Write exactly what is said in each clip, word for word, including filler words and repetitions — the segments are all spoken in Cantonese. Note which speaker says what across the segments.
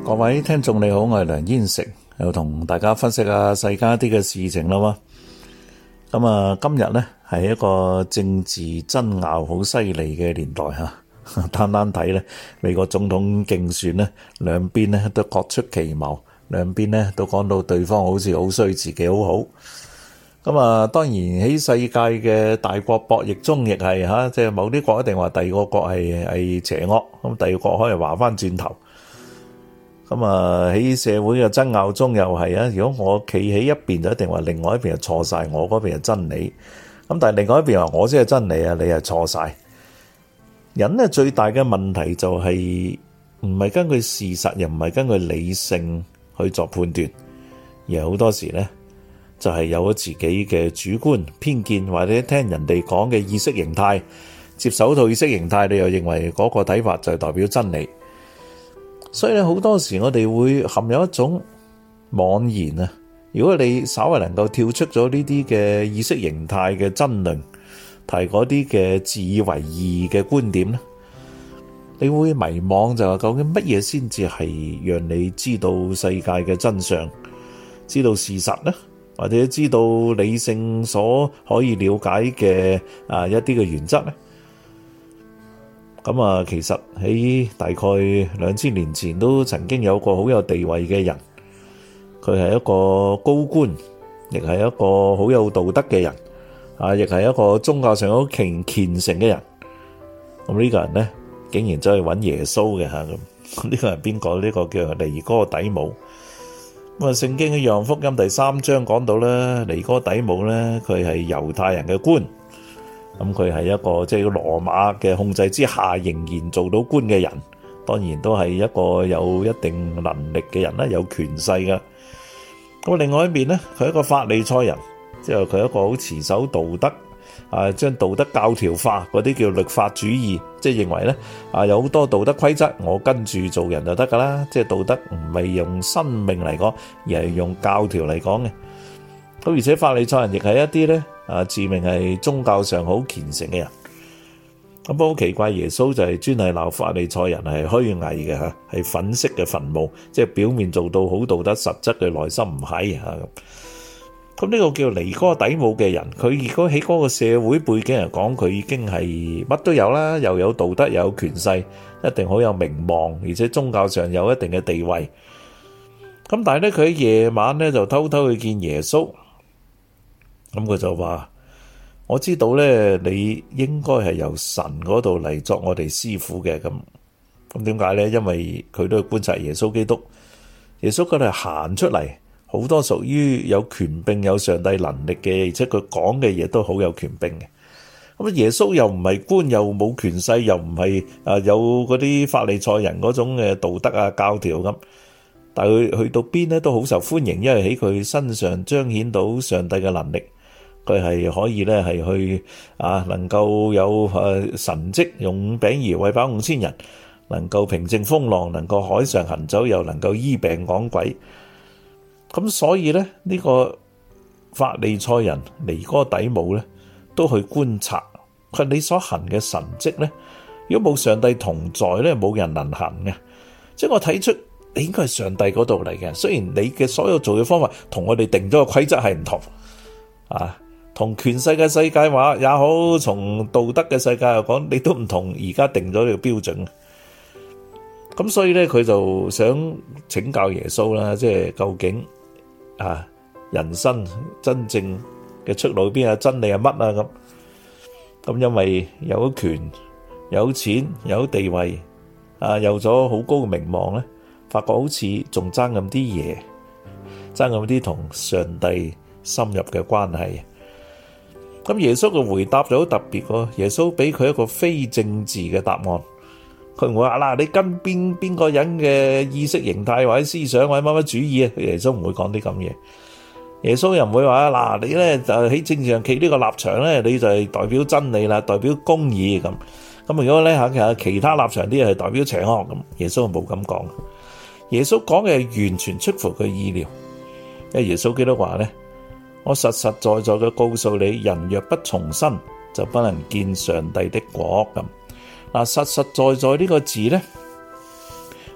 Speaker 1: 各位聽眾你好，我係梁燕成，又同大家分析下世間一啲嘅事情啦嘛。咁啊，今日呢係一個政治爭拗好犀利嘅年代吓，單單睇呢美國總統競選呢，兩邊呢都各出奇謀，兩邊呢都講到對方好似好衰，自己好好。咁啊，當然喺世界嘅大國博弈中，亦係吓，即係某啲國一定話第二個國係係邪惡，咁第二個國可以話翻轉頭。咁啊喺社會嘅爭拗中又係啊，如果我企喺一邊就一定話另外一邊係錯晒，我嗰邊係真理。咁但係另外一邊話我先係真理啊，你係錯晒。人咧最大嘅問題就係唔係根據事實，又唔係根據理性去作判斷，而係好多時咧就係有咗自己嘅主觀偏見，或者聽人哋講嘅意識形態，接受套意識形態，你又認為嗰個睇法就係代表真理。所以咧好多時我哋會陷入一種妄言啊！如果你稍為能夠跳出咗呢啲嘅意識形態嘅爭論，提嗰啲嘅自以為義嘅觀點咧，你會迷惘，就係究竟乜嘢先至係讓你知道世界嘅真相，知道事實呢？或者知道理性所可以了解嘅啊一啲嘅原則呢？咁啊，其實喺大概兩千年前都曾經有個好有地位嘅人，佢係一個高官，亦係一個好有道德嘅人，啊，亦係一個宗教上好虔虔誠嘅人。咁呢個人呢，竟然走去揾耶穌嘅吓，咁呢個係邊個？呢個叫尼哥底母。咁啊，聖經嘅約翰福音第三章講到咧，尼哥底母咧，佢係猶太人嘅官。咁佢係一個即係羅馬嘅控制之下仍然做到官嘅人，當然都係一個有一定能力嘅人啦，有權勢噶。咁另外一邊咧，佢係一個法利賽人，即係佢係一個好持守道德啊，將道德教條化嗰啲叫律法主義，即係認為咧啊有好多道德規則，我跟住做人就得噶啦，即係道德唔係用生命嚟講，而係用教條嚟講嘅。咁而且法利賽人亦係一啲咧。啊！自命係宗教上好虔誠嘅人，咁好奇怪，耶穌就係專係鬧法利賽人係虛偽嘅嚇，係粉飾嘅墳墓，即係表面做到好道德，實質嘅內心唔係嚇咁。咁呢個叫尼哥底母嘅人，佢如果喺嗰個社會背景嚟講，佢已經係乜都有啦，又有道德，又有權勢，一定好有名望，而且宗教上有一定嘅地位。咁但係咧，佢喺夜晚咧就偷偷去見耶穌。咁佢就話：我知道咧，你應該係由神嗰度嚟作我哋師傅嘅。咁咁點解咧？因為佢都去觀察耶穌基督，耶穌嗰度行出嚟，好多屬於有權柄、有上帝能力嘅，而且佢講嘅嘢都好有權柄嘅。咁耶穌又唔係官，又冇權勢，又唔係啊有嗰啲法利賽人嗰種嘅道德啊教條咁。但係佢去到邊咧都好受歡迎，因為喺佢身上彰顯到上帝嘅能力。佢係可以咧，係去啊，能夠有誒神蹟，用五餅二魚餵飽五千人，能夠平靜風浪，能夠海上行走，又能夠醫病趕鬼。咁所以咧，呢個法利賽人尼哥底母咧，都去觀察佢你所行嘅神蹟咧。如果冇上帝同在咧，冇人能行嘅。即係我睇出你應該係上帝嗰度嚟嘅。雖然你嘅所有做嘅方法同我哋定咗個規則係唔同啊。同權勢嘅世界話也好，從道德嘅世界又講，你都唔同而家定咗呢個標準。咁所以咧，佢就想請教耶穌啦，即係究竟啊，人生真正嘅出路邊啊，真理係乜啊咁？咁因為有權、有錢、有地位啊，有咗好高嘅名望咧，發覺好似仲爭咁啲嘢，爭咁啲同上帝深入嘅關係。咁耶穌嘅回答就好特別喎，耶穌俾佢一個非政治嘅答案，佢唔會話嗱，你跟邊邊個人嘅意識形態或者思想或者乜乜主義啊，耶穌唔會講啲咁嘢。耶穌又唔會話嗱，你咧就喺政治上企呢個立場咧，你就係代表真理啦，代表公義咁。咁如果咧吓其他立場啲係代表邪惡咁，耶穌冇咁講。耶穌講嘅係完全出乎佢意料，因為耶穌基督話咧。我實實在在嘅告訴你，人若不重生，就不能見上帝的國咁。嗱，實實在在呢個字咧，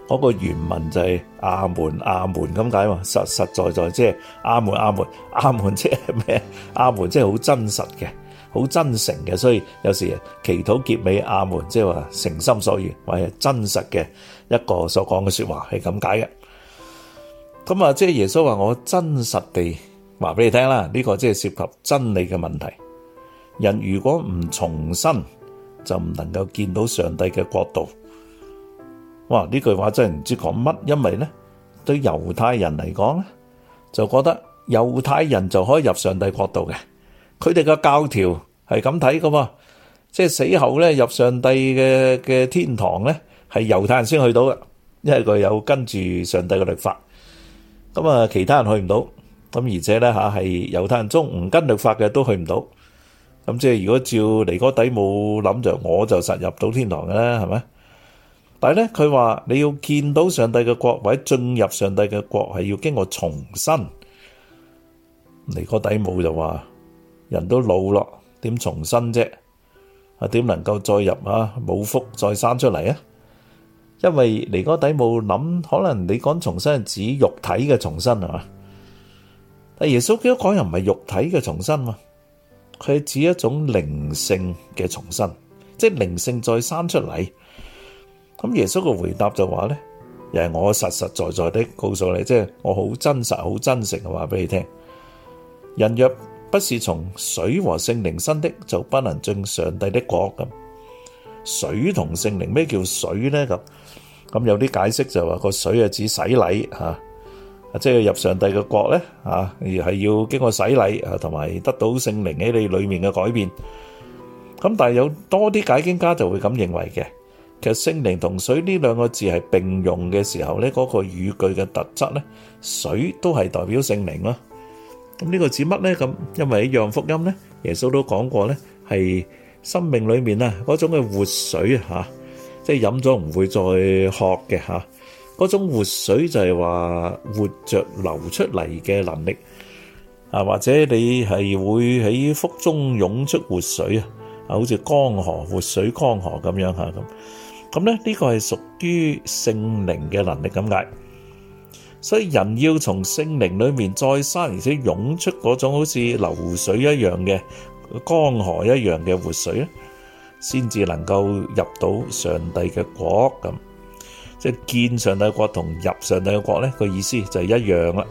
Speaker 1: 嗰個原文就係阿門阿門咁解嘛，實實在在即係阿門阿門阿門即係咩？阿門即係好真實嘅，好真誠嘅，所以有時祈禱結尾阿門，即係話誠心所願或者真實嘅一個所講嘅說話係咁解嘅。咁啊，即係耶穌話我真實地話俾你聽啦，呢個即係涉及真理嘅問題。人如果唔重生，就唔能夠見到上帝嘅國度。哇！呢句話真係唔知講乜，因為咧對猶太人嚟講咧，就覺得猶太人就可以入上帝國度嘅。佢哋嘅教條係咁睇噶嘛，即係死後咧入上帝嘅嘅天堂咧，係猶太人先去到嘅，因為佢有跟住上帝嘅律法。咁啊，其他人去唔到。咁而且咧吓係猶太人中唔跟律法嘅都去唔到。咁即係如果照尼哥底母諗就，我就實入到天堂嘅啦，係咪？但係咧，佢話你要見到上帝嘅國或者進入上帝嘅國，係要經過重生。尼哥底母就話：人都老咯，點重生啫？啊，點能夠再入啊母腹再生出嚟啊？因為尼哥底母諗，可能你講重生係指肉體嘅重生係嘛？但耶穌基督講又唔係肉體嘅重生嘛，佢係指一種靈性嘅重生，即係靈性再生出嚟。咁耶穌嘅回答就話咧，又係我實實在在的告訴你，即係我好真實、好真誠嘅話俾你聽。人若不是從水和聖靈生的，就不能進上帝的國。咁水同聖靈，咩叫水咧？咁咁有啲解釋就話個水係指洗禮吓，即係入上帝嘅國咧吓，而係要經過洗禮啊，同埋得到聖靈喺你裏面嘅改變。咁但係有多啲解經家就會咁認為嘅。其實聖靈同水呢兩個字係並用嘅時候咧，嗰個語句嘅特質咧，水都係代表聖靈咯。咁呢個指乜咧？咁因為喺約翰福音咧，耶穌都講過咧，係生命裏面啊嗰種嘅活水吓，即係飲咗唔會再渴嘅吓。嗰種活水就係話活着流出嚟嘅能力啊，或者你係會喺腹中湧出活水啊，啊，好似江河活水江河咁樣吓咁。咁咧呢個係屬於聖靈嘅能力咁解，所以人要從聖靈裏面再生，而且湧出嗰種好似流水一樣嘅江河一樣嘅活水咧，先至能夠入到上帝嘅國咁。即係見上帝嘅國同入上帝嘅國咧，個意思就係一樣啦。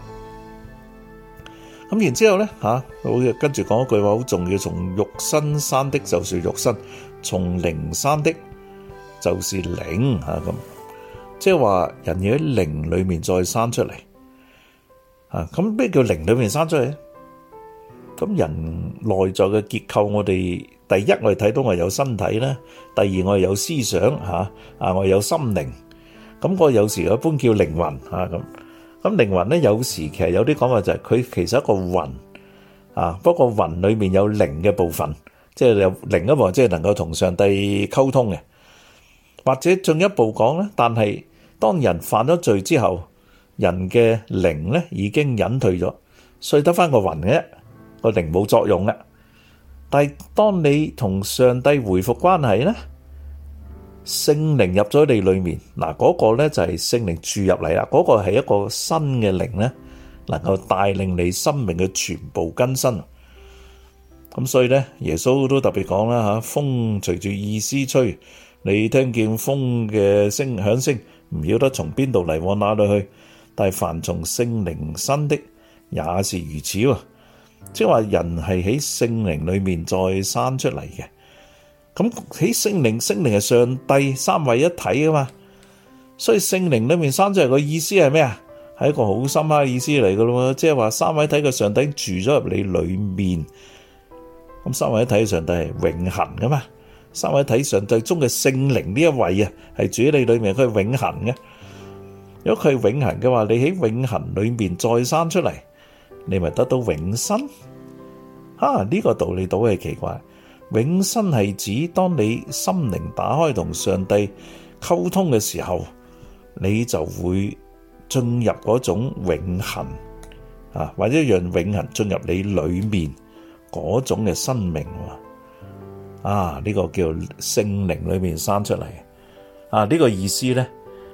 Speaker 1: 咁然之後咧吓，好似跟住講一句話好重要，從肉身生的就是肉身，從靈生的就是靈吓咁，即係話人要喺靈裏面再生出嚟啊！咁咩叫靈裏面生出嚟？咁人內在嘅結構，我哋第一我哋睇到我有身體啦，第二我有思想吓啊，我有心靈。咁我有時一般叫靈魂吓咁。咁靈魂咧，有時其實有啲講法就係佢其實一個魂啊，不過魂裏面有靈嘅部分，即係有另一部分，即係能夠同上帝溝通嘅。或者進一步講咧，但係當人犯咗罪之後，人嘅靈咧已經隱退咗，所以得翻個魂嘅，個靈冇作用嘅。但係當你同上帝回復關係咧，聖靈入咗你裏面，嗱嗰個咧就係聖靈注入嚟啦，嗰個係一個新嘅靈咧，能夠帶領你生命嘅全部更新。咁所以咧，耶穌都特別講啦吓，風隨住意思吹。你聽見風嘅聲響聲，唔曉得從邊度嚟，往哪裏去。但係凡從聖靈生的，也是如此喎。即係話人係喺聖靈裏面再生出嚟嘅。咁喺聖靈，聖靈係上帝三位一體噶嘛。所以聖靈裏面生出嚟個意思係咩啊？係一個好深刻嘅意思嚟噶咯。即係話三位一體嘅上帝住咗入你裏面。咁三位一體嘅上帝係永恆噶嘛。三位一體上帝中嘅聖靈呢一位啊，係住喺你裏面，佢係永恆嘅。如果佢係永恆嘅話，你喺永恆裏面再生出嚟，你咪得到永生。啊，呢個道理倒係奇怪。永生係指當你心靈打開同上帝溝通嘅時候，你就會進入嗰種永恆啊，或者讓永恆進入你裏面嗰種嘅生命。啊！呢、這個叫聖靈裏面生出嚟啊！呢、這個意思咧，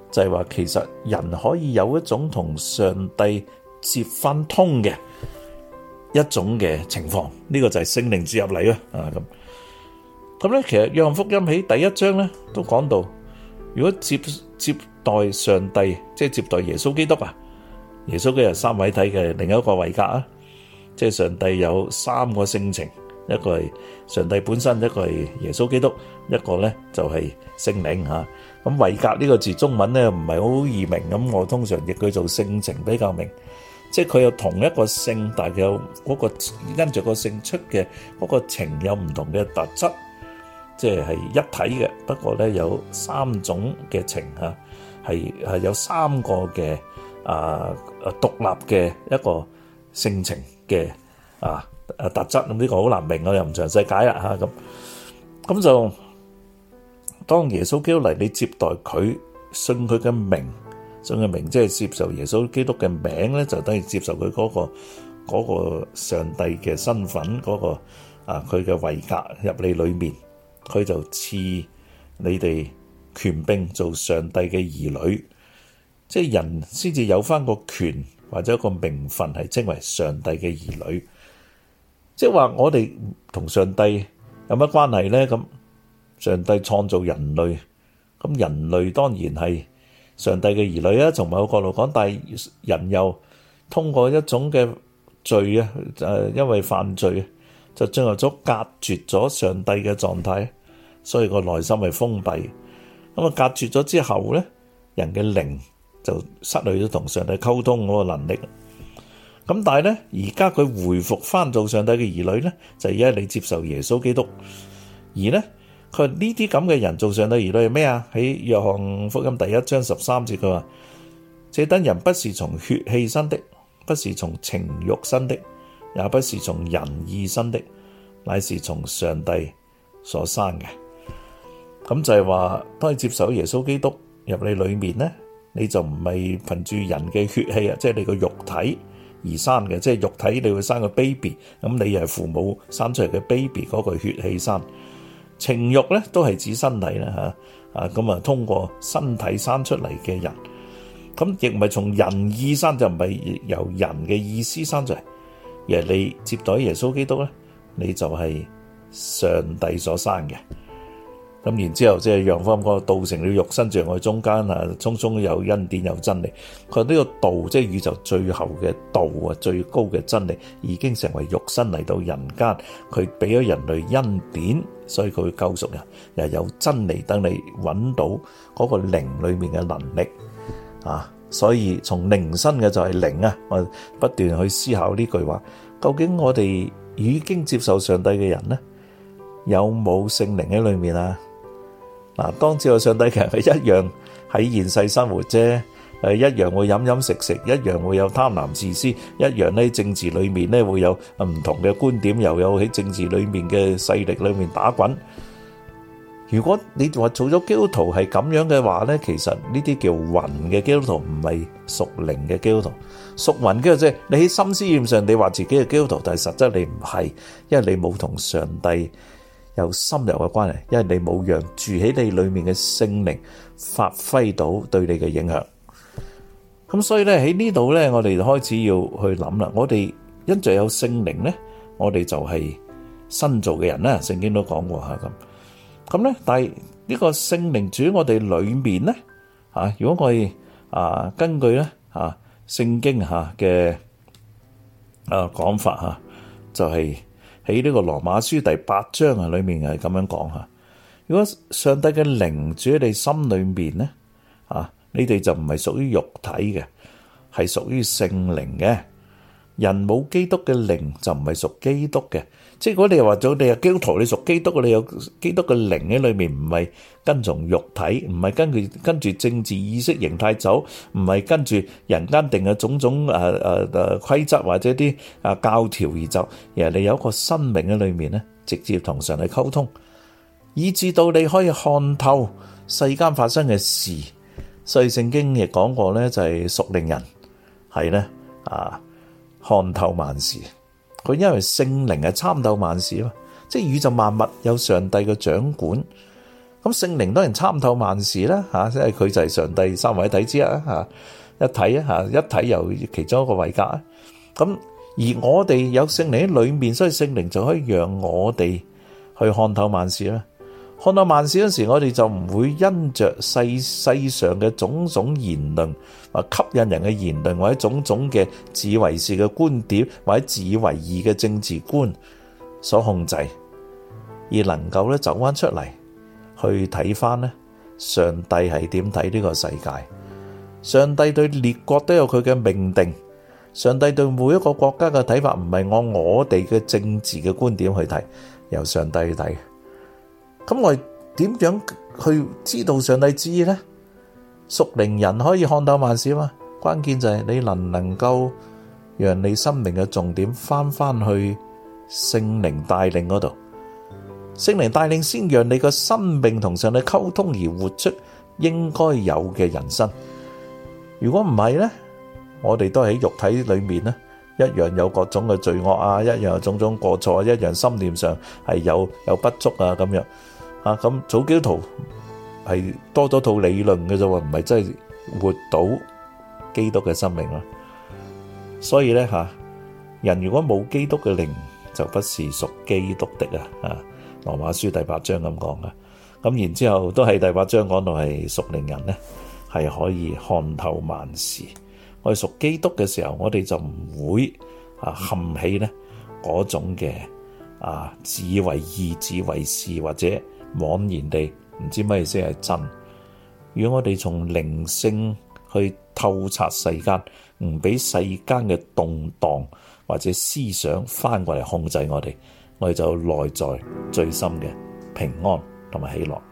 Speaker 1: 就係話其實人可以有一種同上帝接翻通嘅一種嘅情況，呢個就係聖靈注入嚟啊！啊咁咁咧，其實約翰福音喺第一章咧都講到，如果接接待上帝，即係接待耶穌基督啊，耶穌基督係三位體嘅另一個位格啊，即係上帝有三個性情，一個係上帝本身，一個係耶穌基督，一個咧就係聖靈嚇。咁位格呢個字中文咧唔係好易明，咁我通常譯佢做性情比較明。即係佢有同一個性，但係有嗰個跟住個性出嘅嗰個情有唔同嘅特質，即係係一體嘅。不過咧有三種嘅情嚇，係係有三個嘅啊啊獨立嘅一個性情嘅啊啊特質。咁呢個好難明，我又唔詳細解啦嚇咁。咁就當耶穌基督嚟，你接待佢，信佢嘅名。信嘅名即係接受耶穌基督嘅名咧，就等於接受佢嗰個嗰個上帝嘅身份，嗰個啊佢嘅位格入你裏面，佢就賜你哋權柄做上帝嘅兒女，即係人先至有翻個權或者一個名分係稱為上帝嘅兒女。即係話我哋同上帝有乜關係咧？咁上帝創造人類，咁人類當然係上帝嘅兒女啊，從某個角度講，但係人又通過一種嘅罪啊，誒，因為犯罪就進入咗隔絕咗上帝嘅狀態，所以個內心係封閉。咁啊，隔絕咗之後咧，人嘅靈就失去咗同上帝溝通嗰個能力。咁但係咧，而家佢回復翻做上帝嘅兒女咧，就係而家你接受耶穌基督，而咧。佢呢啲咁嘅人做上帝兒女係咩啊？喺約翰福音第一章十三節佢話：這等人不是從血氣生的，不是從情慾生的，也不是從人意生的，乃是從上帝所生嘅。咁就係話，當你接受耶穌基督入你裏面咧，你就唔係憑住人嘅血氣啊，即係你個肉體而生嘅，即係肉體你會生個 baby， 咁你又係父母生出嚟嘅 baby 嗰個血氣生。情慾咧都係指身體啦嚇，啊咁啊通過身體生出嚟嘅人，咁亦唔係從人意生，就唔係由人嘅意思生出嚟，而係你接待耶穌基督咧，你就係上帝所生嘅。咁然之後即係約翰嗰個道成了肉身在我哋中間啊，充充有恩典有真理。佢話呢個道即係宇宙最後嘅道啊，最高嘅真理已經成為肉身嚟到人間，佢俾咗人類恩典，所以佢會救贖人，又有真理等你揾到嗰個靈裏面嘅能力啊。所以從靈生嘅就係靈啊，我不斷去思考呢句話，究竟我哋已經接受上帝嘅人呢，有冇聖靈喺裏面啊？嗱，當知道上帝其實係一樣喺現世生活啫，誒一樣會飲飲食食，一樣會有貪婪自私，一樣咧政治裏面咧會有唔同嘅觀點，又有喺政治裏面嘅勢力裏面打滾。如果你話做咗基督徒係咁樣嘅話咧，其實呢啲叫魂嘅基督徒，唔係屬靈嘅基督徒。屬魂嘅即係你喺心思意上你話自己係基督徒，但係實質你唔係，因為你冇同上帝有深入嘅關係，因為你冇讓住喺你裏面嘅聖靈發揮到對你嘅影響。咁所以咧喺呢度咧，我哋就開始要去諗啦。我哋因着有聖靈咧，我哋就係新造嘅人啦。聖經都講過吓咁。咁咧，但係呢個聖靈住喺我哋裏面咧，吓如果我哋啊根據咧吓聖經吓嘅啊講法吓，就係。喺呢個羅馬書第八章啊，裏面係咁樣講吓。如果上帝嘅靈住喺你心裏面咧，啊，你哋就唔係屬於肉體嘅，係屬於聖靈嘅。人冇基督嘅靈就唔係屬基督嘅。即係如果你又話咗你係基督徒，你屬基督，你有基督嘅靈喺裏面，唔係跟從肉體，唔係跟住跟住政治意識形態走，唔係跟住人間定嘅種種誒誒誒規則或者啲啊教條而走，而係你有一個生命喺裏面咧，直接同上帝溝通，以至到你可以看透世間發生嘅事。所以聖經亦講過咧，就係屬靈人係咧啊。看透萬事，佢因為聖靈係參透萬事啊嘛，即係宇宙萬物有上帝嘅掌管， 咁聖靈當然參透萬事啦，吓，因為佢就係上帝三位一體之一啊，吓，一體啊，吓，一體又其中一個位格啊。咁而我哋有聖靈喺裏面，所以聖靈就可以讓我哋去看透萬事啦。看透萬事嗰時，我哋就唔會因着世世上嘅種種言論，或吸引人嘅言論，或者種種嘅自以為是嘅觀點，或者自以為義嘅政治觀所控制，而能夠咧走翻出嚟去睇翻咧，上帝係點睇呢個世界？上帝對列國都有佢嘅命定，上帝對每一個國家嘅睇法唔係按我哋嘅政治嘅觀點去睇，由上帝去睇。咁我哋點樣去知道上帝知呢？屬靈人可以看透萬事嘛？關鍵就係你能唔能夠讓你生命嘅重點翻翻去聖靈帶領嗰度，聖靈帶領先讓你個生命同上帝溝通而活出應該有嘅人生。如果唔係呢，我哋都喺肉體裏面呢，一樣有各種嘅罪惡啊，一樣有種種過錯，一樣心念上係有有不足啊咁樣。啊，咁做基督徒係多咗套理論嘅啫喎，唔係真係活到基督嘅生命啦。所以咧吓，人如果冇基督嘅靈，就不是屬基督的啊。啊，羅馬書第八章咁講嘅。咁然之後都係第八章講到係屬靈人咧，係可以看透萬事。我哋屬基督嘅時候，我哋就唔會啊陷起咧嗰種嘅啊自以為義、自以為是或者妄然地唔知乜嘢先係真。如果我哋從靈性去透察世間，唔俾世間嘅動盪或者思想翻過嚟控制我哋，我哋就內在最深嘅平安同埋喜樂。